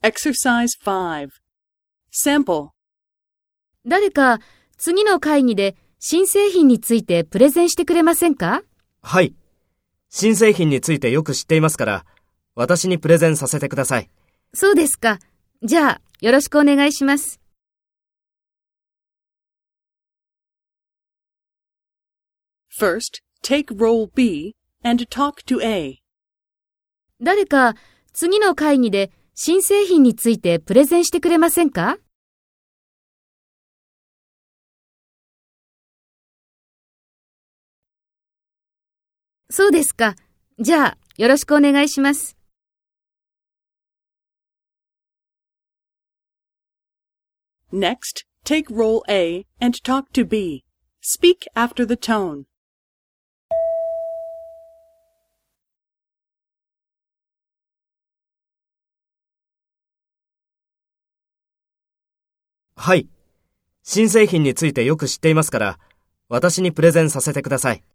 Exercise 5. Sample. 誰か次の会議で新製品についてプレゼンしてくれませんか？ はい。新製品についてよく知っていますから、私にプレゼンさせてください。 そうですか。じゃあ、よろしくお願いします。 First, take role B and talk to A. 誰か次の会議で新製品についてプレゼンしてくれませんか？そうですか。じゃあ、よろしくお願いします。 Next, take role A and talk to B. Speak after the tone. はい。新製品についてよく知っていますから、私にプレゼンさせてください。